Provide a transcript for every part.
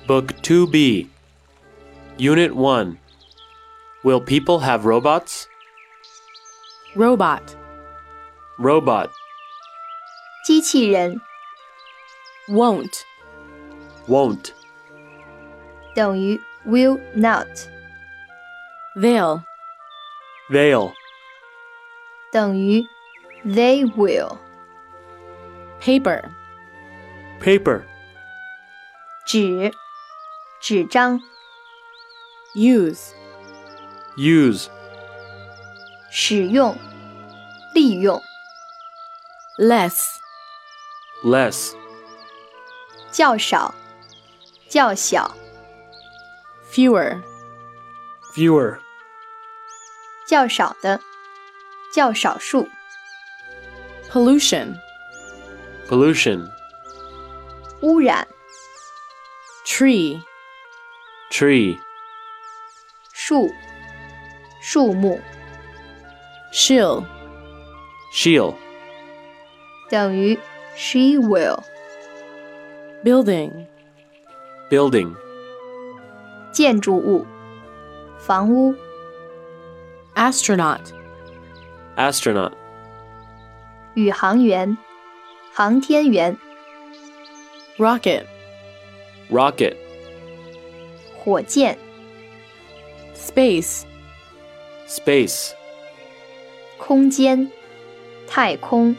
Book 2B, Unit 1. Will people have robots? Robot. Robot. 机器人 Won't. Won't. 等于 will not， Veil. Veil. 等于 they will， Paper. Paper. 纸张 Use. Use. 使用利用 Less. Less. 较少较小 Fewer. Fewer. 较少的较少数 Pollution. Pollution. 污染 Tree. Tree. 树木 She'll. She'll. 等于 she will， Building. Building. 建筑物房屋 Astronaut. Astronaut. 宇航员航天员 Rocket. Rocket. 火箭 Space. Space. 空间太空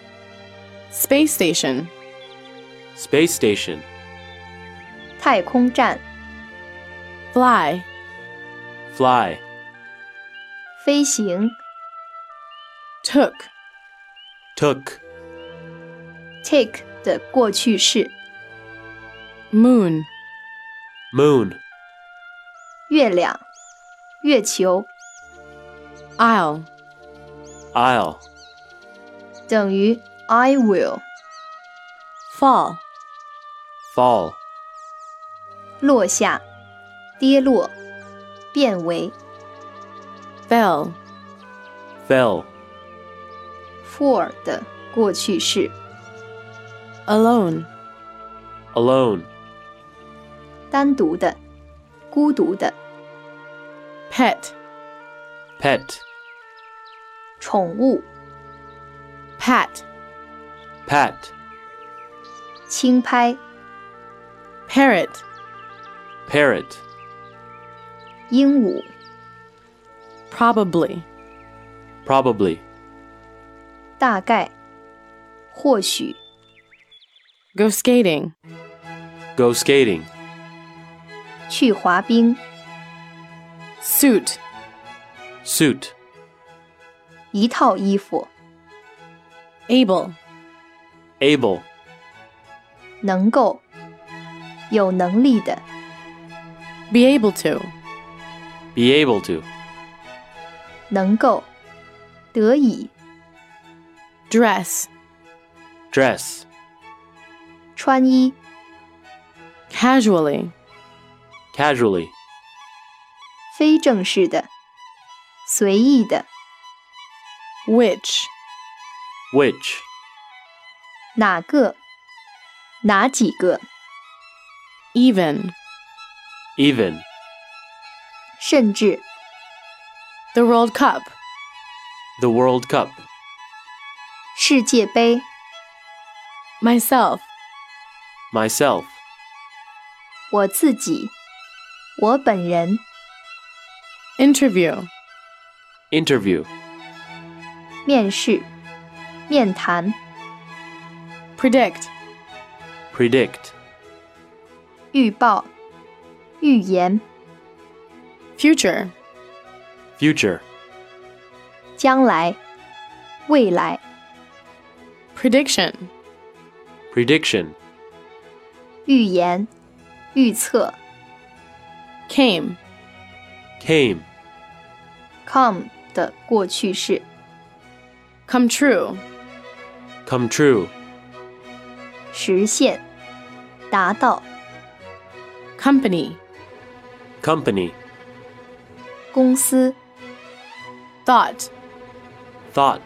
Space Station. Space Station. 太空站 Fly. Fly. 飞行 Took. Took. take 的过去式 Moon. Moon. 月亮月球 Isle. Isle. 等于 I will， Fall. Fall. 落下跌落变为 Fell. Fell. for 的过去式 Alone. Alone. 单独的孤独的 Pet. Pet. 宠物 Pat. Pat. 轻拍 Parrot. Parrot. 鹦鹉 Probably. Probably. 大概或许 Go skating. Go skating. 去滑冰 Suit. Suit. 一套衣服 Able. Able. 能够有能力的 Be able to. Be able to. 能够得以 Dress. Dress. 穿衣 Casually. Casually. 非正式的随意的 Which. Which. 哪个哪几个 Even. Even. 甚至 The World Cup. The World Cup. 世界杯 Myself. Myself. 我自己我本人 Interview. Interview. 面试面谈 Predict. Predict. 预报预言 Future. Future. 将来未来 Prediction. Prediction. 预言预测 Came. Came. come 的过去式 Come true. Come true. 实现达到 Company. Company. 公司 Thought. Thought.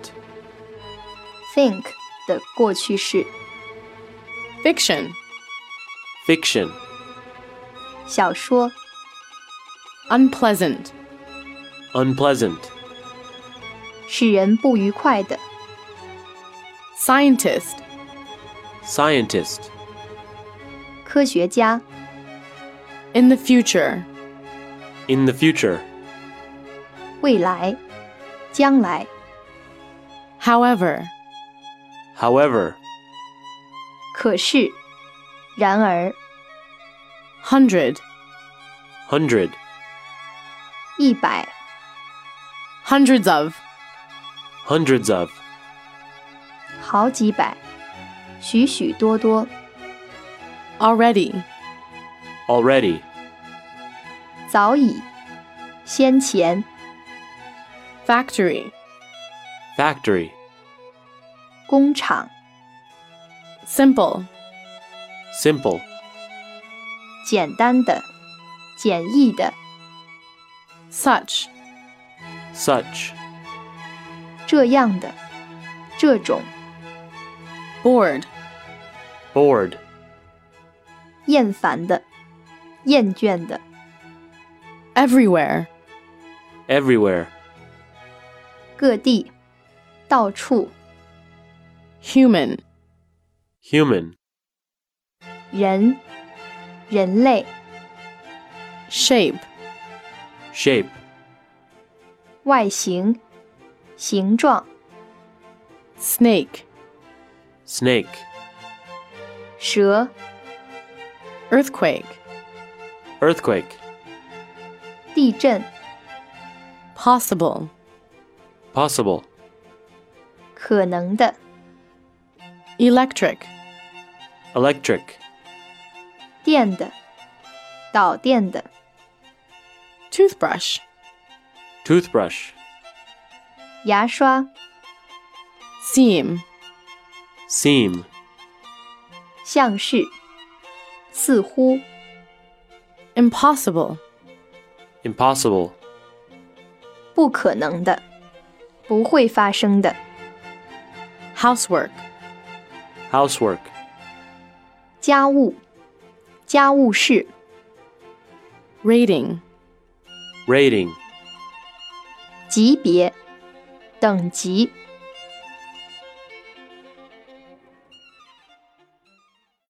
think 的过去式 Fiction. Fiction. 小说， unpleasant, unpleasant, 使人不愉快的， scientist, scientist, 科学家， in the future, in the future, 未来，将来， however, however, 可是，然而， hundred, hundred, 100， hundreds of, hundreds of, 好几百，许许多多， already, already, 早已，先前， factory, factory, 工厂， simple, simple, 简单的，简易的， such, such, 这样的，这种， bored, bored, 厌烦的，厌倦的， everywhere, everywhere, 各地，到处， human, human, 人，人类， shape, shape, 外形，形状， snake, snake, 蛇， earthquake, earthquake, 地震， possible, possible, 可能的， electric, electric, 电的，导电的， toothbrush, toothbrush, 牙刷， seem, seem, 像是，似乎， impossible, impossible, 不可能的，不会发生的， housework, housework, 家务，家务事， rating, rating, 级别，等级，